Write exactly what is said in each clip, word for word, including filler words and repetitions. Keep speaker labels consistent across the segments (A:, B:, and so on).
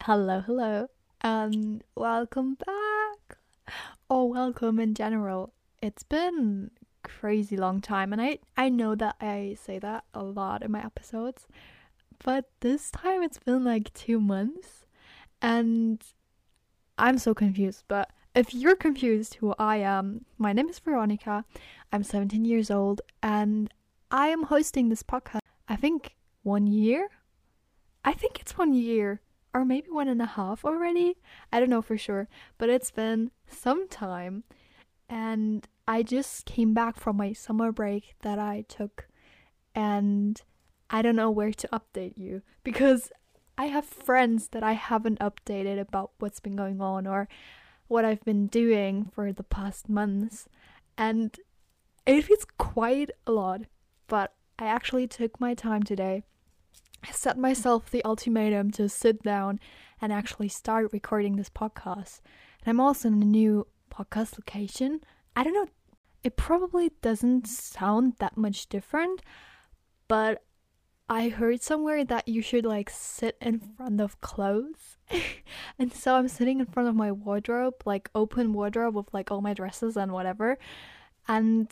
A: Hello, hello, and welcome back. Or welcome in general. It's been crazy long time, and I I know that I say that a lot in my episodes, but this time it's been like two months, and I'm so confused. But if you're confused who I am, my name is Veronica. I'm seventeen years old, and I am hosting this podcast. I think one year. I think it's one year or maybe one and a half already. I don't know for sure, but it's been some time. And I just came back from my summer break that I took, and I don't know where to update you because I have friends that I haven't updated about what's been going on or what I've been doing for the past months. And it feels quite a lot, but I actually took my time today. I set myself the ultimatum to sit down and actually start recording this podcast. And I'm also in a new podcast location. I don't know, it probably doesn't sound that much different, but I heard somewhere that you should like sit in front of clothes. And so I'm sitting in front of my wardrobe, like open wardrobe with like all my dresses and whatever. And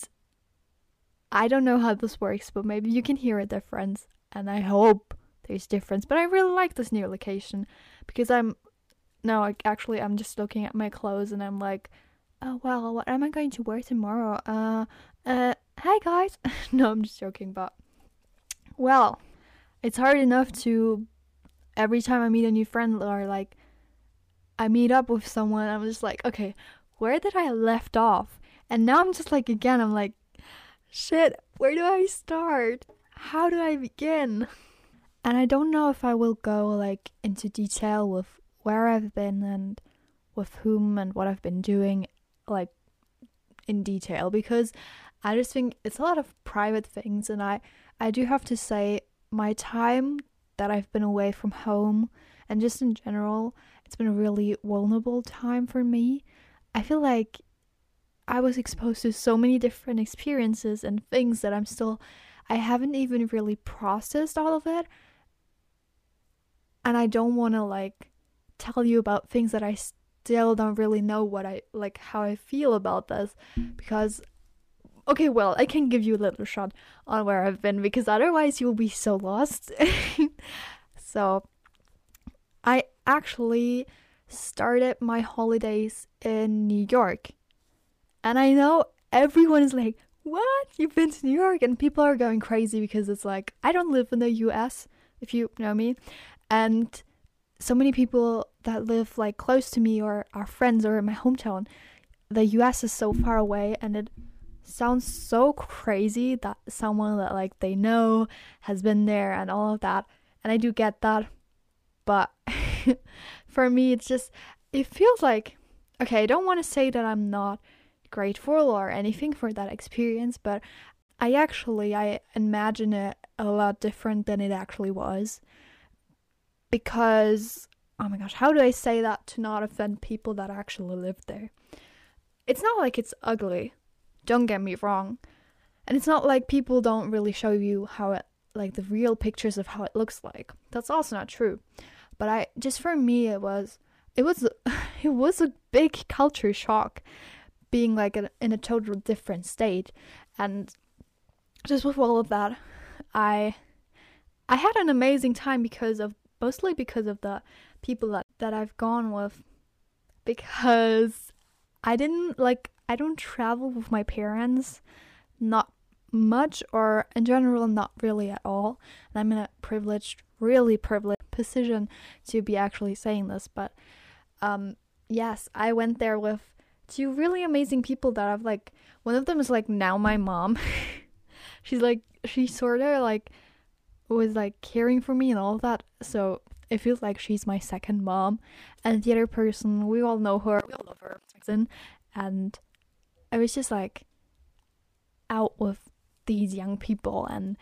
A: I don't know how this works, but maybe you can hear a difference. And I hope there's difference. But I really like this new location because I'm no, like, actually I'm just looking at my clothes and I'm like, oh well, what am I going to wear tomorrow? Uh, uh, hi guys. No, I'm just joking, but well, it's hard enough to every time I meet a new friend or like I meet up with someone, I'm just like, okay, where did I left off? And now I'm just like again, I'm like, shit, where do I start? How do I begin? And I don't know if I will go like into detail with where I've been and with whom and what I've been doing like in detail because I just think it's a lot of private things, and I I do have to say my time that I've been away from home and just in general, it's been a really vulnerable time for me. I feel like I was exposed to so many different experiences and things that I'm still I haven't even really processed all of it. And I don't want to like tell you about things that I still don't really know what I like how I feel about this because okay, well, I can give you a little shot on where I've been because otherwise you'll be so lost. So, I actually started my holidays in New York. And I know everyone is like, "What? You've been to New York?" And people are going crazy because it's like I don't live in the U S, if you know me. And so many people that live like close to me or are friends or in my hometown, the U S is so far away, and it sounds so crazy that someone that like they know has been there and all of that. And I do get that, but for me it's just it feels like okay, I don't want to say that I'm not grateful or anything for that experience, but I actually I imagine it a lot different than it actually was. Because, oh my gosh, how do I say that to not offend people that actually live there? It's not like it's ugly, don't get me wrong. And it's not like people don't really show you how it, like the real pictures of how it looks like. That's also not true. But I, just for me, it was, it was, it was a big culture shock being like a, in a total different state. And just with all of that, I, I had an amazing time because of mostly because of the people that, that I've gone with, because I didn't like I don't travel with my parents, not much, or in general not really at all. And I'm in a privileged really privileged position to be actually saying this, but um yes, I went there with two really amazing people that I've like one of them is like now my mom. She's like she sort of like was like caring for me and all of that, so it feels like she's my second mom. And the other person, we all know her, we all love her, and I was just like out with these young people and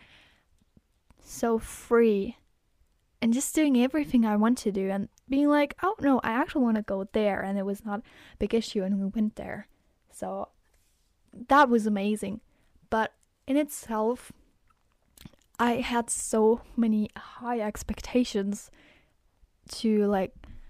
A: so free and just doing everything I want to do and being like, oh no, I actually want to go there, and it was not a big issue, and we went there. So that was amazing. But in itself, I had so many high expectations to like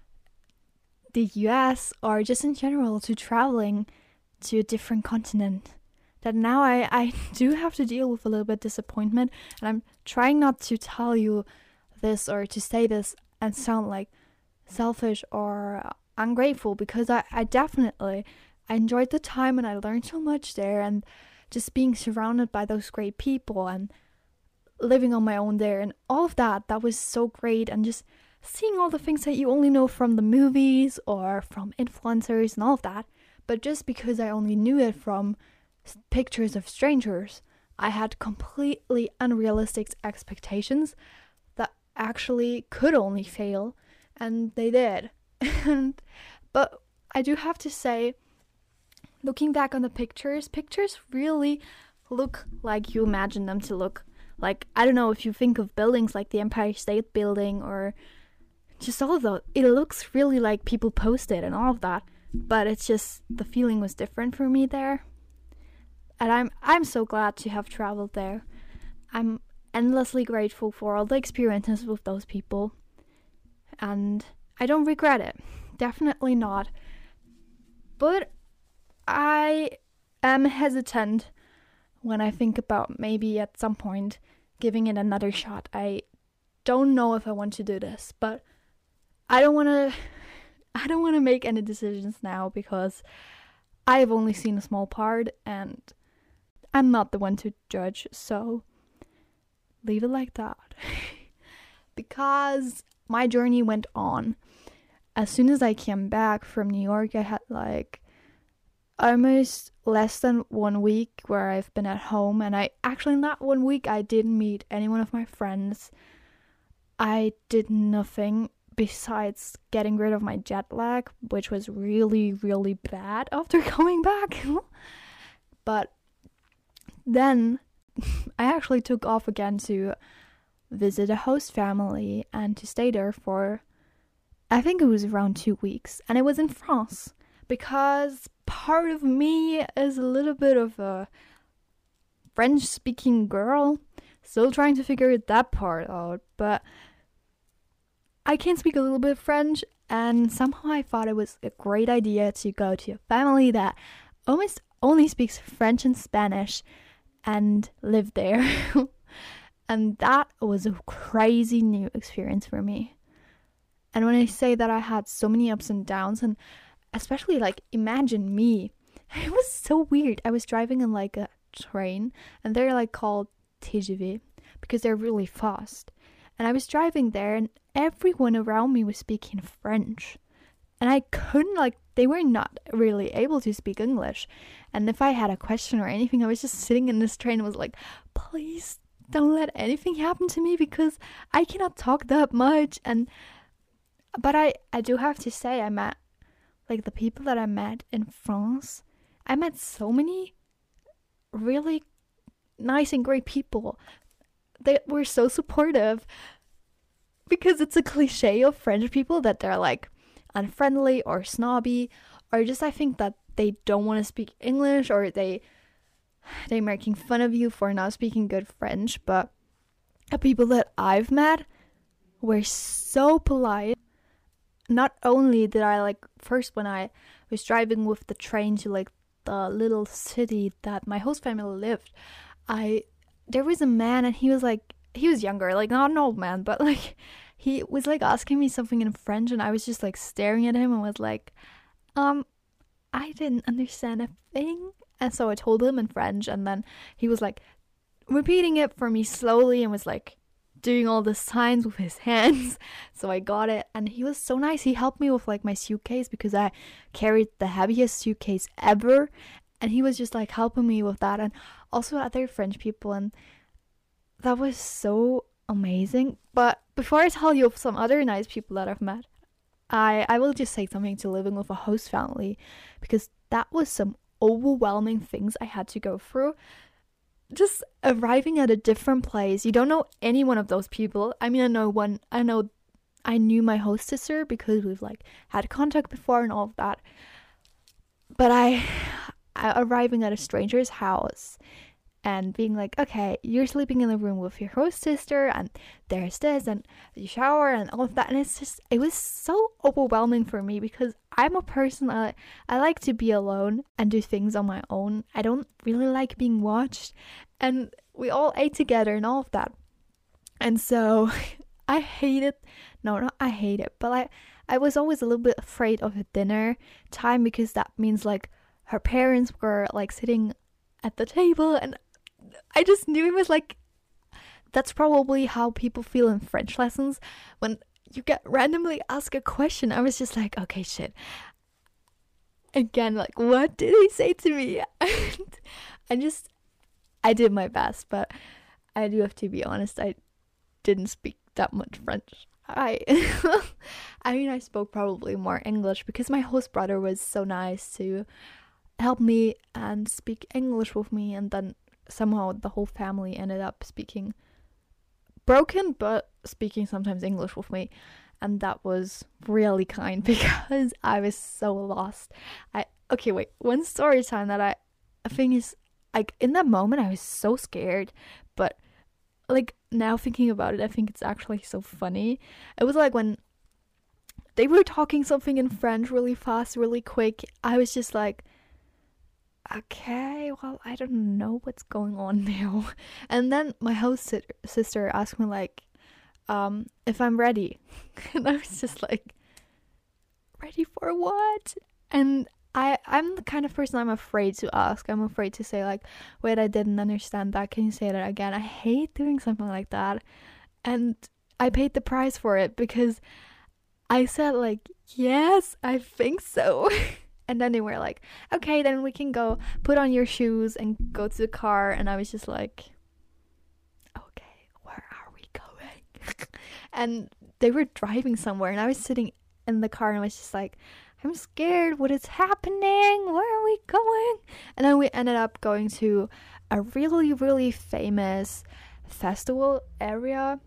A: the U S or just in general to traveling to a different continent, that now I, I do have to deal with a little bit disappointment. And I'm trying not to tell you this or to say this and sound like selfish or ungrateful, because I, I definitely I enjoyed the time and I learned so much there, and just being surrounded by those great people and living on my own there and all of that, that was so great. And just seeing all the things that you only know from the movies or from influencers and all of that, but just because I only knew it from pictures of strangers, I had completely unrealistic expectations that actually could only fail, and they did. And but I do have to say, looking back on the pictures, pictures really look like you imagine them to look. Like, I don't know if you think of buildings like the Empire State Building or just all of those, it looks really like people posted and all of that, but it's just the feeling was different for me there. And I'm I'm so glad to have traveled there. I'm endlessly grateful for all the experiences with those people, and I don't regret it. Definitely not. But I am hesitant when I think about maybe at some point giving it another shot. I don't know if I want to do this, but I don't want to I don't want to make any decisions now, because I've only seen a small part and I'm not the one to judge, so leave it like that. Because my journey went on. As soon as I came back from New York, I had like almost less than one week where I've been at home, and I actually in that one week I didn't meet any one of my friends. I did nothing besides getting rid of my jet lag, which was really, really bad after coming back. But then I actually took off again to visit a host family and to stay there for, I think it was around two weeks, and it was in France, because part of me is a little bit of a French-speaking girl, still trying to figure that part out, but I can speak a little bit of French, and somehow I thought it was a great idea to go to a family that almost only speaks French and Spanish and live there. And that was a crazy new experience for me. And when I say that I had so many ups and downs, and especially like imagine me, it was so weird. I was driving in like a train, and they're like called T G V because they're really fast. And I was driving there, and everyone around me was speaking French. And I couldn't, like, they were not really able to speak English. And if I had a question or anything, I was just sitting in this train and was like, please don't let anything happen to me, because I cannot talk that much. And but I, I do have to say, I met, like, the people that I met in France, I met so many really nice and great people. They were so supportive, because it's a cliche of French people that they're like unfriendly or snobby, or just I think that they don't want to speak English, or they they're making fun of you for not speaking good French. But the people that I've met were so polite. Not only did I, like, first when I was driving with the train to like the little city that my host family lived, I there was a man, and he was like, he was younger, like not an old man, but like he was like asking me something in French, and I was just like staring at him and was like, um, I didn't understand a thing. And so I told him in French, and then he was like repeating it for me slowly and was like doing all the signs with his hands. So I got it, and he was so nice. He helped me with like my suitcase, because I carried the heaviest suitcase ever, and he was just like helping me with that, and also other French people, and that was so amazing. But before I tell you of some other nice people that I've met, I, I will just say something to living with a host family, because that was some overwhelming things I had to go through. Just arriving at a different place. You don't know any one of those people. I mean, I know one, I know, I knew my hostesser because we've like had contact before and all of that. But I, I arriving at a stranger's house, and being like, okay, you're sleeping in the room with your host sister, and there's this, and you shower, and all of that. And it's just, it was so overwhelming for me because I'm a person, I, I like to be alone and do things on my own. I don't really like being watched. And we all ate together and all of that. And so I hate it. No, not I hate it, but I, I was always a little bit afraid of the dinner time because that means like her parents were like sitting at the table, and I just knew it was like, that's probably how people feel in French lessons when you get randomly asked a question. I was just like, okay, shit. Again, like, what did he say to me? And I just, I did my best, but I do have to be honest, I didn't speak that much French. I, I mean, I spoke probably more English because my host brother was so nice to help me and speak English with me, and then somehow the whole family ended up speaking broken but speaking sometimes English with me, and that was really kind because I was so lost. I okay wait one story time that I, I think is like, in that moment I was so scared, but like now thinking about it I think it's actually so funny. It was like when they were talking something in French really fast, really quick, I was just like, okay, well, I don't know what's going on now. And then my host si- sister asked me like, um, if I'm ready. And I was just like, ready for what? And I, I'm the kind of person I'm afraid to ask. I'm afraid to say like, wait, I didn't understand that. Can you say that again? I hate doing something like that. And I paid the price for it because I said like, yes, I think so. And then they were like, okay, then we can go put on your shoes and go to the car. And I was just like, okay, where are we going? And they were driving somewhere and I was sitting in the car and I was just like, I'm scared. What is happening? Where are we going? And then we ended up going to a really, really famous festival area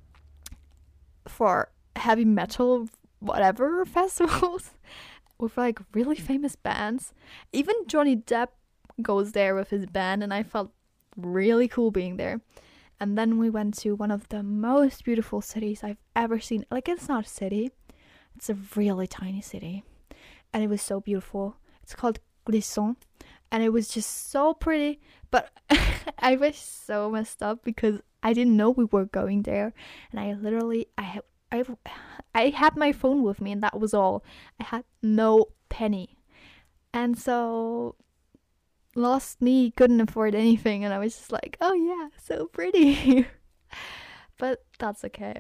A: for heavy metal, whatever festivals. With like really famous bands. Even Johnny Depp goes there with his band, and I felt really cool being there. And then we went to one of the most beautiful cities I've ever seen. Like, it's not a city, it's a really tiny city, and it was so beautiful. It's called Clisson, and it was just so pretty. But I was so messed up because I didn't know we were going there, and I literally I have I I had my phone with me and that was all. I had no penny. And so lost me, couldn't afford anything, and I was just like, oh yeah, so pretty. But that's okay.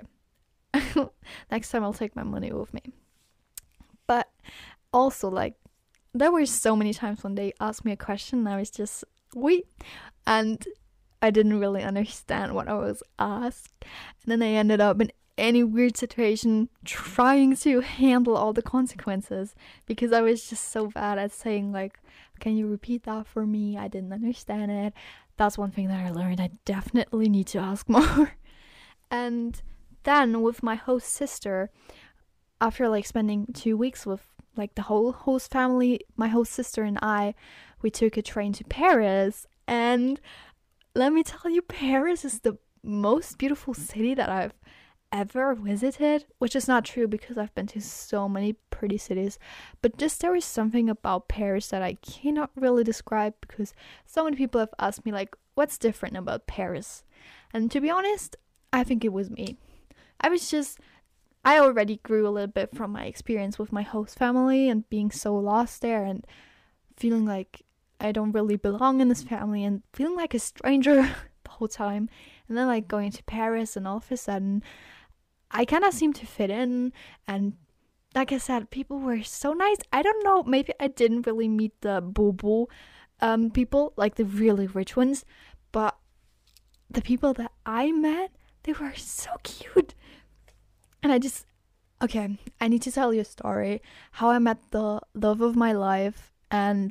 A: Next time I'll take my money with me. But also, like, there were so many times when they asked me a question and I was just, wait, and I didn't really understand what I was asked. And then I ended up in any weird situation trying to handle all the consequences because I was just so bad at saying like, can you repeat that for me? I didn't understand it. That's one thing that I learned. I definitely need to ask more. And then with my host sister, after like spending two weeks with like the whole host family, my host sister and I, we took a train to Paris. And let me tell you, Paris is the most beautiful city that I've ever visited, which is not true because I've been to so many pretty cities, but just there is something about Paris that I cannot really describe because so many people have asked me like, what's different about Paris? And to be honest, I think it was me. I was just, I already grew a little bit from my experience with my host family and being so lost there and feeling like I don't really belong in this family and feeling like a stranger the whole time. And then like going to Paris and all of a sudden I kind of seemed to fit in, and like I said, people were so nice. I don't know, maybe I didn't really meet the boo-boo um, people, like the really rich ones, but the people that I met, they were so cute. And I just, okay, I need to tell you a story, how I met the love of my life and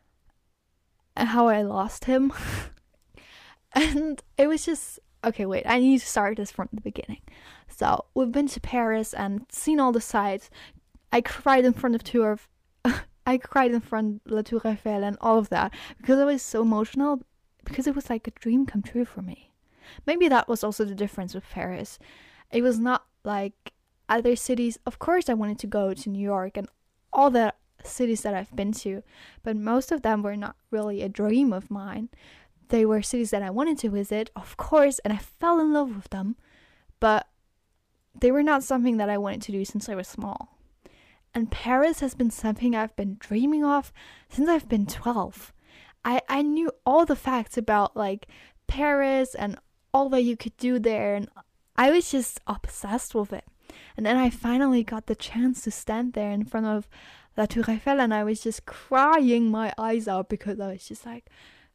A: how I lost him. And it was just, okay, wait, I need to start this from the beginning. So, we've been to Paris and seen all the sights. I cried in front of Tour of, I cried in front of La Tour Eiffel and all of that because I was so emotional because it was like a dream come true for me. Maybe that was also the difference with Paris. It was not like other cities. Of course, I wanted to go to New York and all the cities that I've been to, but most of them were not really a dream of mine. They were cities that I wanted to visit, of course, and I fell in love with them, but they were not something that I wanted to do since I was small. And Paris has been something I've been dreaming of since I've been twelve. I, I knew all the facts about like Paris and all that you could do there, and I was just obsessed with it. And then I finally got the chance to stand there in front of La Tour Eiffel, and I was just crying my eyes out because I was just like,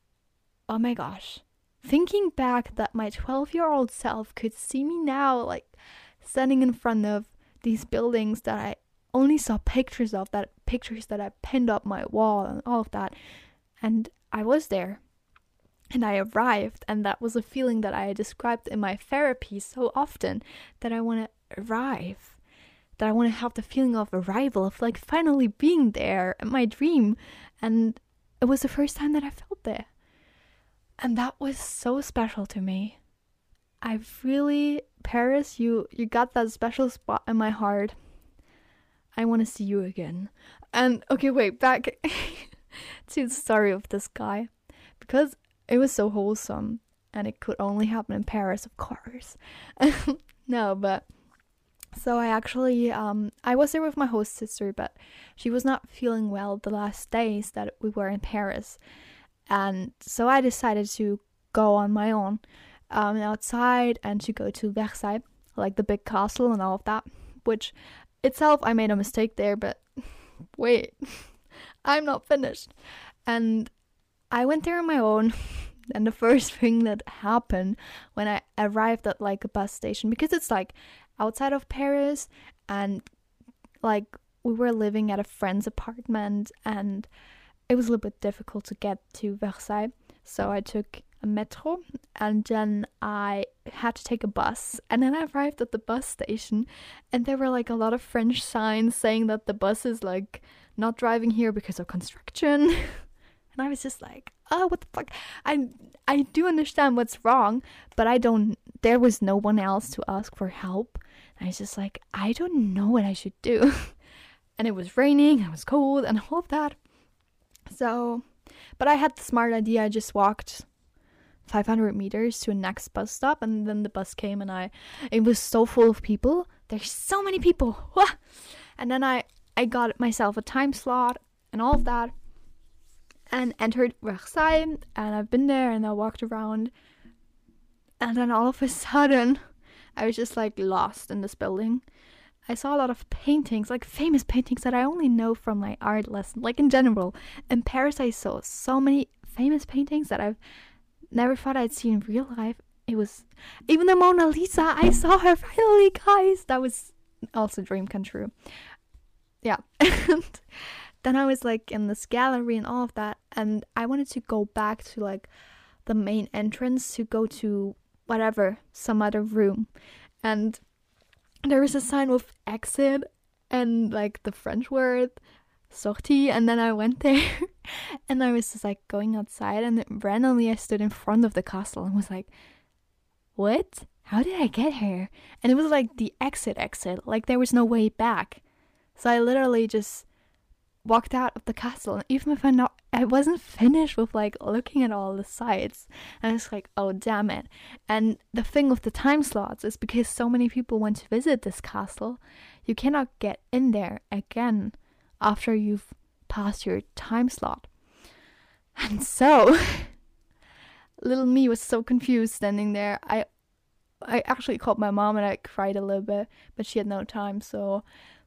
A: oh my gosh. Thinking back that my twelve-year-old self could see me now, like standing in front of these buildings that I only saw pictures of, that pictures that I pinned up my wall and all of that. And I was there. And I arrived, and that was a feeling that I described in my therapy so often, that I want to arrive, that I want to have the feeling of arrival, of like finally being there in my dream. And it was the first time that I felt there. And that was so special to me. I really, Paris, you, you got that special spot in my heart. I want to see you again. And okay, wait, back to the story of this guy. Because it was so wholesome, and it could only happen in Paris, of course. No, but so I actually, um, I was there with my host sister, but she was not feeling well the last days that we were in Paris. And so I decided to go on my own um, outside and to go to Versailles, like the big castle and all of that, which itself, I made a mistake there, but wait, I'm not finished. And I went there on my own, and the first thing that happened when I arrived at like a bus station, because it's like outside of Paris, and like we were living at a friend's apartment, and it was a little bit difficult to get to Versailles, so I took a metro, and then I had to take a bus, and then I arrived at the bus station, and there were like a lot of French signs saying that the bus is like not driving here because of construction. And I was just like, oh, what the fuck? I I do understand what's wrong, but I don't, there was no one else to ask for help. And I was just like, I don't know what I should do. And it was raining, it was cold, and all of that. So, but I had the smart idea. I just walked five hundred meters to a next bus stop, and then the bus came, and I, it was so full of people. There's so many people. And then I, I got myself a time slot and all of that, and entered Versailles, and I've been there, and I walked around, and then all of a sudden I was just like lost in this building. I saw a lot of paintings, like famous paintings that I only know from my art lesson, like in general. In Paris I saw so many famous paintings that I've never thought I'd see in real life. It was, even the Mona Lisa, I saw her finally, guys. That was also a dream come true. Yeah. And then I was like in this gallery and all of that, and I wanted to go back to like the main entrance to go to whatever, some other room. And there was a sign with exit and like the French word sortie, and then I went there and I was just like going outside, and then randomly I stood in front of the castle and was like, what? How did I get here? And it was like the exit exit, like there was no way back. So I literally just walked out of the castle, and even if I not I wasn't finished with like looking at all the sights, and I was like, oh damn it. And the thing with the time slots is because so many people want to visit this castle, you cannot get in there again after you've passed your time slot. And so little me was so confused standing there. I I actually called my mom, and I cried a little bit, but she had no time. So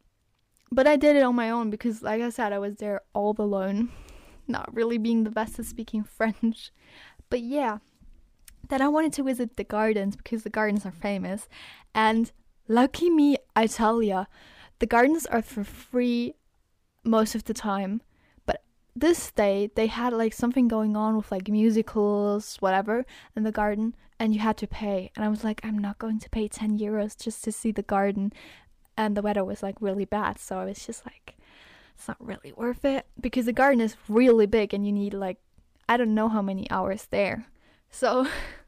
A: But I did it on my own because, like I said, I was there all alone, not really being the best at speaking French. But yeah, then I wanted to visit the gardens because the gardens are famous. And lucky me, I tell ya, the gardens are for free most of the time. But this day, they had like something going on with like musicals, whatever, in the garden, and you had to pay. And I was like, I'm not going to pay ten euros just to see the garden. And the weather was like really bad, so I was just like, it's not really worth it, because the garden is really big and you need like I don't know how many hours there. So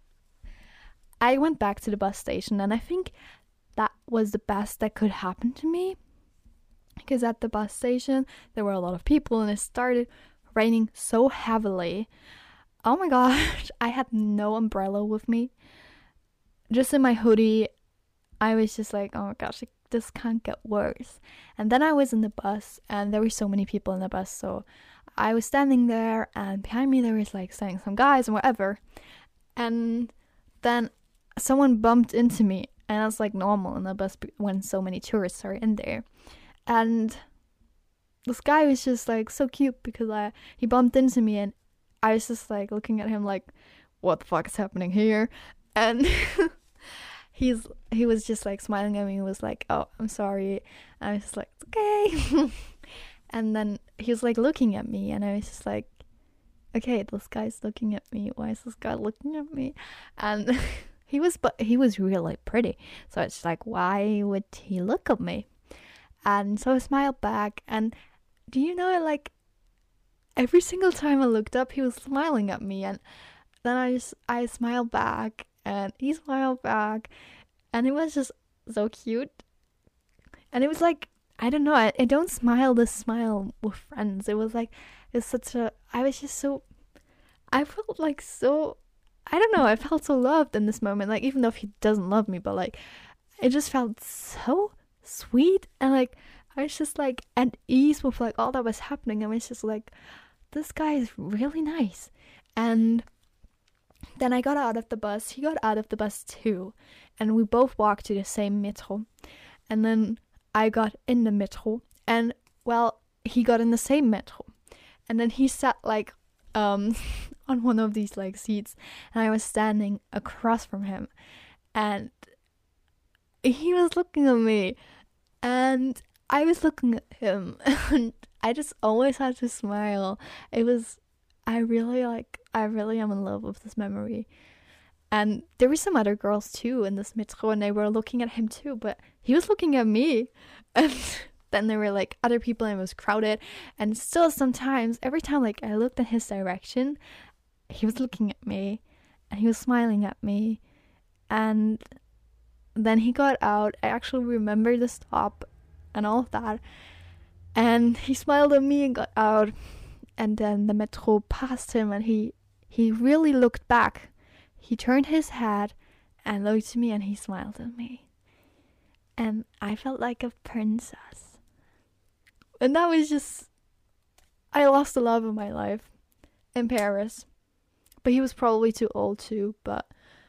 A: I went back to the bus station, and I think that was the best that could happen to me, because at the bus station there were a lot of people and it started raining so heavily. Oh my gosh, I had no umbrella with me. Just in my hoodie, I was just like, oh my gosh, this can't get worse. And then I was in the bus, and there were so many people in the bus, so I was standing there, and behind me there was like saying some guys and whatever. And then someone bumped into me, and that's like normal in the bus when so many tourists are in there. And this guy was just like so cute, because I he bumped into me, and I was just like looking at him like, what the fuck is happening here? And he's he was just like smiling at me and was like, oh, I'm sorry. And I was just like, okay. And then he was like looking at me, and I was just like, okay, this guy's looking at me. Why is this guy looking at me? And he was but he was really pretty, so it's like, why would he look at me? And so I smiled back, and do you know, like, every single time I looked up, he was smiling at me, and then I just I smiled back, and he smiled back, and it was just so cute. And it was like, I don't know, I, I don't smile this smile with friends. It was like, it's such a, I was just so, I felt like so, I don't know, I felt so loved in this moment. Like, even though he doesn't love me, but like, it just felt so sweet, and like, I was just like at ease with like all that was happening. I was just like, this guy is really nice. And then I got out of the bus, he got out of the bus too, and we both walked to the same metro. And then I got in the metro, and well, he got in the same metro, and then he sat like um on one of these like seats, and I was standing across from him, and he was looking at me, and I was looking at him, and I just always had to smile. It was, I really like, I really am in love with this memory. And there were some other girls too in this metro, and they were looking at him too, but he was looking at me. And then there were like other people, and it was crowded. And still sometimes, every time like I looked in his direction, he was looking at me, and he was smiling at me. And then he got out. I actually remember the stop and all of that. And he smiled at me and got out. And then the metro passed him, and he, he really looked back. He turned his head and looked at me, and he smiled at me. And I felt like a princess. And that was just, I lost the love of my life in Paris. But he was probably too old too, but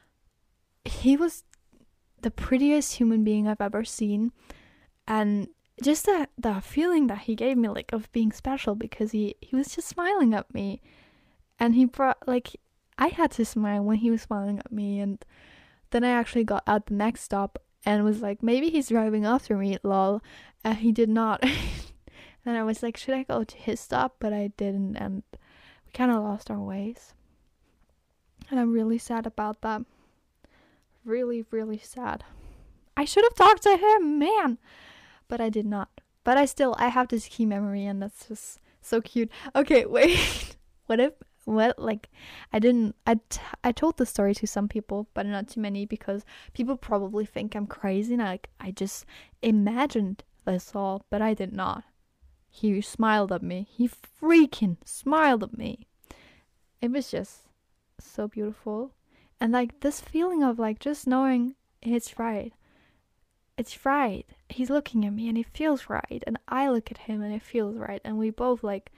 A: he was the prettiest human being I've ever seen. And just that the feeling that he gave me, like, of being special, because he, he was just smiling at me. And he brought, like, I had to smile when he was smiling at me. And then I actually got out the next stop and was like, maybe he's driving after me, lol. And he did not. Then I was like, should I go to his stop? But I didn't, and we kind of lost our ways. And I'm really sad about that. Really, really sad. I should have talked to him, man. But I did not. But I still, I have this key memory, and that's just so cute. Okay, wait. What if, what, like, I didn't, I, t- I told the story to some people, but not too many, because people probably think I'm crazy, and I, like, I just imagined this all, but I did not. He smiled at me. He freaking smiled at me. It was just so beautiful. And like this feeling of like just knowing it's right. It's right. He's looking at me and it feels right. And I look at him and it feels right. And we both like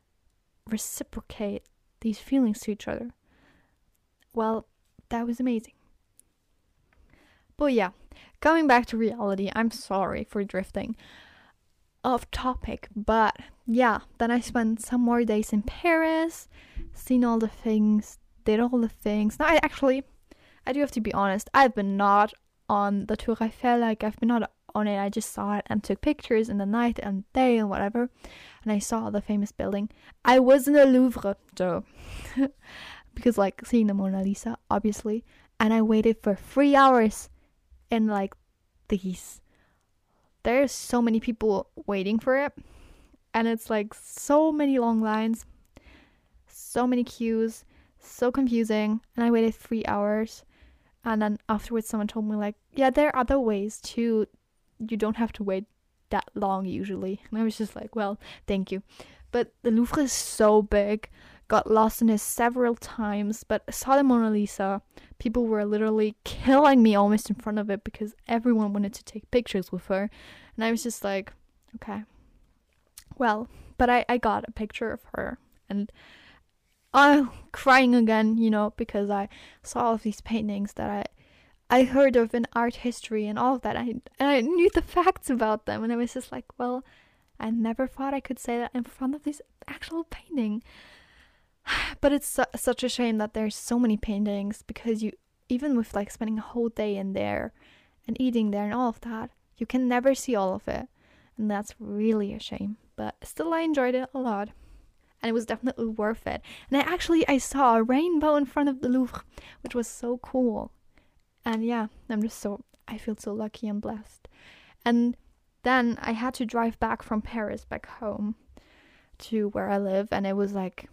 A: reciprocate these feelings to each other. Well, that was amazing. But yeah, coming back to reality, I'm sorry for drifting off topic, but yeah, then I spent some more days in Paris, seen all the things, did all the things. Now, I actually, I do have to be honest, I've been not on the Tour Eiffel, like, I've been not on it, I just saw it and took pictures in the night and day and whatever, and I saw the famous building. I was in the Louvre, though, because, like, seeing the Mona Lisa, obviously, and I waited for three hours in, like, these there's so many people waiting for it, and it's like so many long lines, so many queues, so confusing, and I waited three hours. And then afterwards someone told me like, yeah, there are other ways too. You don't have to wait that long usually. And I was just like, well, thank you. But the Louvre is so big. Got lost in it several times, but saw the Mona Lisa. People were literally killing me almost in front of it because everyone wanted to take pictures with her. And I was just like, okay. Well, but I, I got a picture of her. And I'm crying again, you know, because I saw all of these paintings that I I heard of in art history and all of that. I, and I knew the facts about them. And I was just like, well, I never thought I could say that in front of this actual painting. But it's su- such a shame that there's so many paintings, because you, even with like spending a whole day in there and eating there and all of that, you can never see all of it. And that's really a shame. But still, I enjoyed it a lot. And it was definitely worth it. And I actually, I saw a rainbow in front of the Louvre, which was so cool. And yeah, I'm just so, I feel so lucky and blessed. And then I had to drive back from Paris back home to where I live. And it was like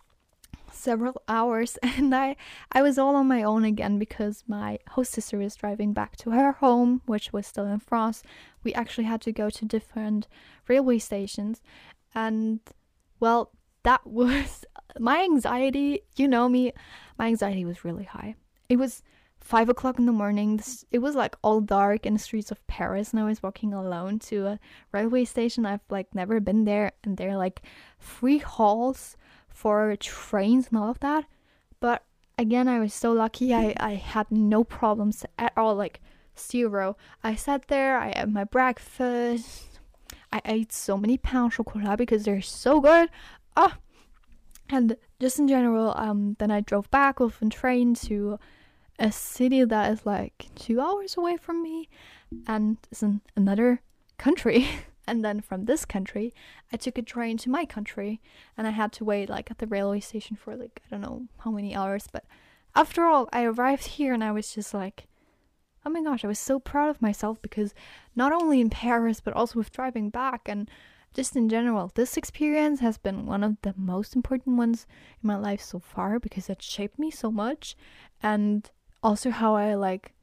A: several hours, and I I was all on my own again because my host sister was driving back to her home, which was still in France. We actually had to go to different railway stations, and well, that was my anxiety. You know me, my anxiety was really high. It was five o'clock in the morning. It was like all dark in the streets of Paris, and I was walking alone to a railway station. I've like never been there, and there are like three halls for trains and all of that. But again, I was so lucky. I, I had no problems at all, like zero. I sat there, I had my breakfast. I ate so many pain au chocolat because they're so good. Ah, and just in general, um, then I drove back with a train to a city that is like two hours away from me, and is in another country. And then from this country, I took a train to my country, and I had to wait like at the railway station for like, I don't know how many hours. But after all, I arrived here, and I was just like, oh my gosh, I was so proud of myself, because not only in Paris, but also with driving back and just in general, this experience has been one of the most important ones in my life so far, because it shaped me so much. And also how I like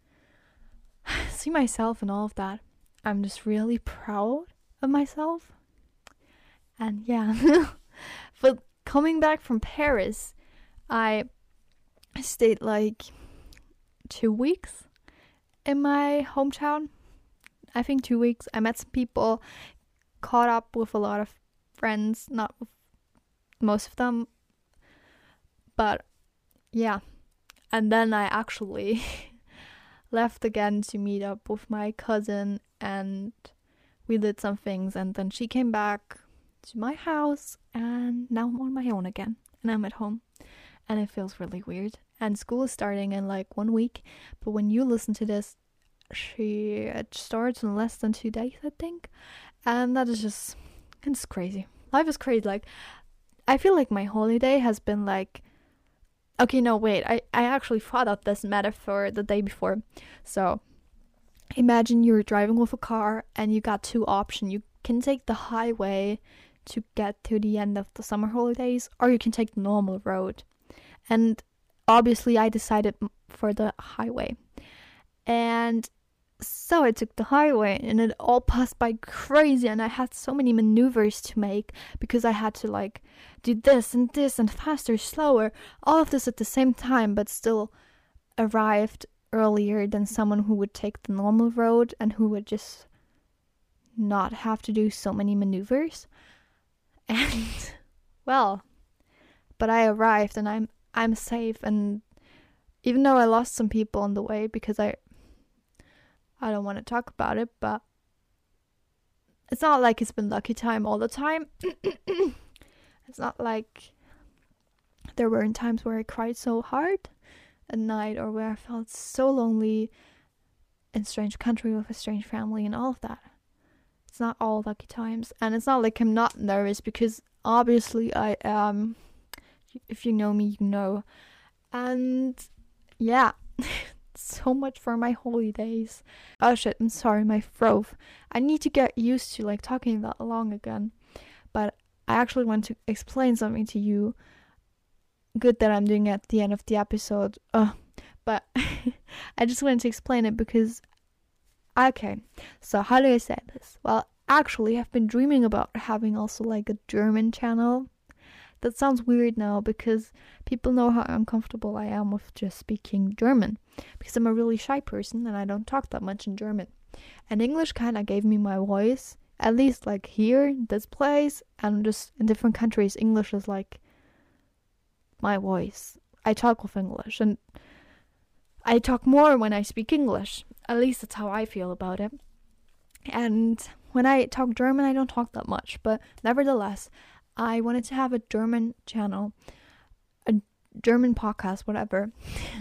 A: see myself and all of that. I'm just really proud of myself. And yeah. But coming back from Paris, I stayed like two weeks in my hometown. I think two weeks. I met some people, caught up with a lot of friends, not with most of them, but yeah. And then I actually left again to meet up with my cousin, and we did some things, and then she came back to my house, and now I'm on my own again, and I'm at home, and it feels really weird. And school is starting in like one week, but when you listen to this, she it starts in less than two days, I think, and that is just, it's crazy. Life is crazy. Like, I feel like my holiday has been like, okay, no, wait, I, I actually thought of this metaphor the day before. So imagine you're driving with a car and you got two options. You can take the highway to get to the end of the summer holidays, or you can take the normal road. And obviously I decided for the highway. And so I took the highway, and it all passed by crazy, and I had so many maneuvers to make, because I had to like do this and this and faster, slower, all of this at the same time, but still arrived earlier than someone who would take the normal road and who would just not have to do so many maneuvers. And well, but I arrived, and I'm I'm safe. And even though I lost some people on the way, because I I don't want to talk about it, but it's not like it's been lucky time all the time. It's not like there weren't times where I cried so hard at night, or where I felt so lonely in a strange country with a strange family and all of that. It's not all lucky times. And it's not like I'm not nervous, because obviously I am. If you know me, you know. And yeah. So much for my holidays. Oh shit, I'm sorry, my throat. I need to get used to like talking that long again. But I actually want to explain something to you. good that I'm doing it at the end of the episode. Uh, but I just wanted to explain it because, okay, so how do I say this? Well, actually, I've been dreaming about having also like a German channel. That sounds weird now because people know how uncomfortable I am with just speaking German because I'm a really shy person and I don't talk that much in German. And English kind of gave me my voice, at least like here, this place, and just in different countries, English is like my voice. I talk with English and I talk more when I speak English. At least that's how I feel about it. And when I talk German, I don't talk that much, but nevertheless, I wanted to have a German channel, a German podcast, whatever.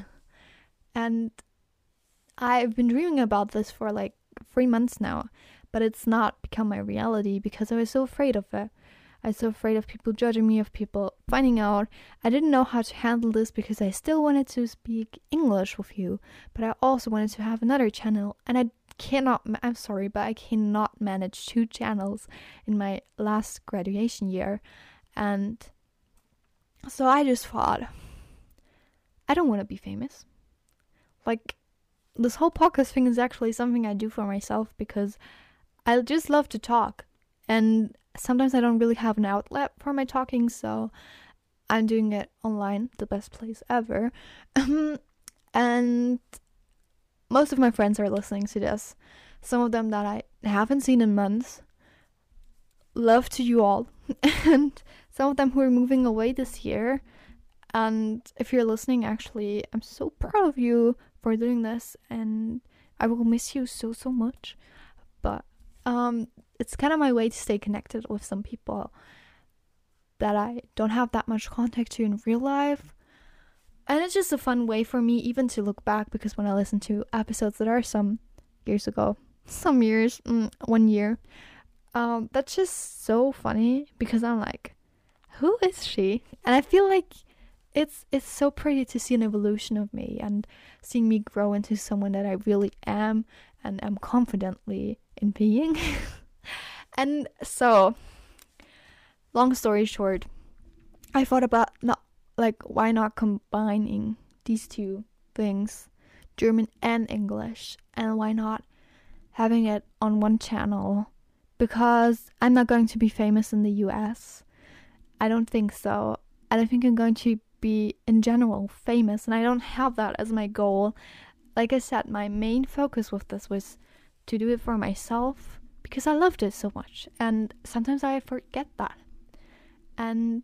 A: And I've been dreaming about this for like three months now, but it's not become my reality because I was so afraid of it. I was so afraid of people judging me, of people finding out. I didn't know how to handle this because I still wanted to speak English with you, but I also wanted to have another channel, and I cannot, I'm sorry, but I cannot manage two channels in my last graduation year. And so I just thought, I don't want to be famous. Like, this whole podcast thing is actually something I do for myself because I just love to talk. And sometimes I don't really have an outlet for my talking, so I'm doing it online, the best place ever. And most of my friends are listening to this. Some of them that I haven't seen in months. Love to you all. And some of them who are moving away this year. And if you're listening, actually, I'm so proud of you for doing this. And I will miss you so, so much. But um, it's kind of my way to stay connected with some people that I don't have that much contact to in real life. And it's just a fun way for me even to look back, because when I listen to episodes that are some years ago, some years, mm, one year, um, that's just so funny because I'm like, who is she? And I feel like it's it's so pretty to see an evolution of me and seeing me grow into someone that I really am and am confidently in being. And so, long story short, I thought about not like why not combining these two things, German and English, and why not having it on one channel, because I'm not going to be famous in the U S. I don't think so. I don't think I'm going to be in general famous, and I don't have that as my goal. Like I said, my main focus with this was to do it for myself because I loved it so much, and sometimes I forget that. And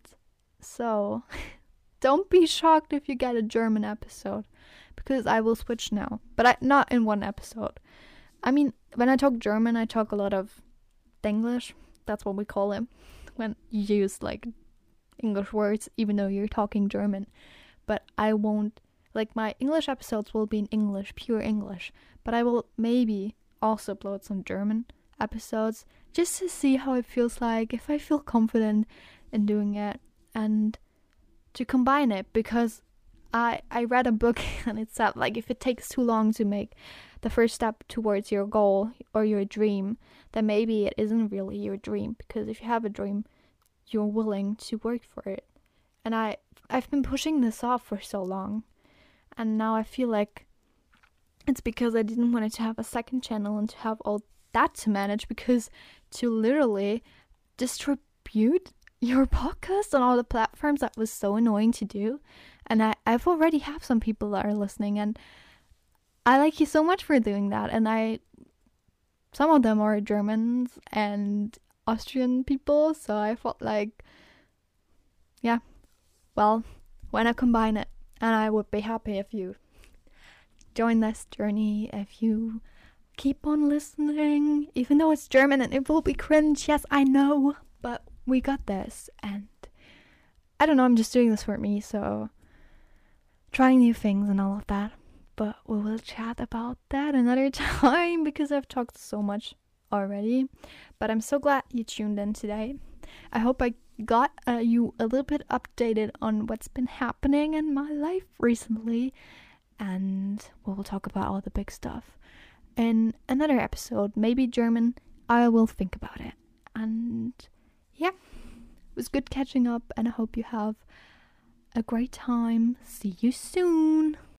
A: so don't be shocked if you get a German episode, because I will switch now, but I not in one episode. I mean, when I talk German, I talk a lot of Denglish. That's what we call it when you use like English words, even though you're talking German. But I won't, like, my English episodes will be in English, pure English, but I will maybe also upload some German episodes just to see how it feels like, if I feel confident in doing it, and to combine it, because I I read a book and it said, like, if it takes too long to make the first step towards your goal or your dream, then maybe it isn't really your dream, because if you have a dream, you're willing to work for it. And I I've been pushing this off for so long, and now I feel like it's because I didn't want to have a second channel and to have all that to manage, because to literally distribute your podcast on all the platforms, that was so annoying to do. And I, I've already have some people that are listening, and I like you so much for doing that. And I, some of them are Germans and Austrian people, so I felt like, yeah, well, why not combine it? And I would be happy if you join this journey, if you keep on listening, even though it's German and it will be cringe. Yes, I know, but we got this. And I don't know, I'm just doing this for me, so trying new things and all of that. But we will chat about that another time, because I've talked so much already. But I'm so glad you tuned in today. I hope I got uh, you a little bit updated on what's been happening in my life recently, and we will talk about all the big stuff in another episode, maybe German. I will think about it. And yeah, it was good catching up, and I hope you have a great time. See you soon.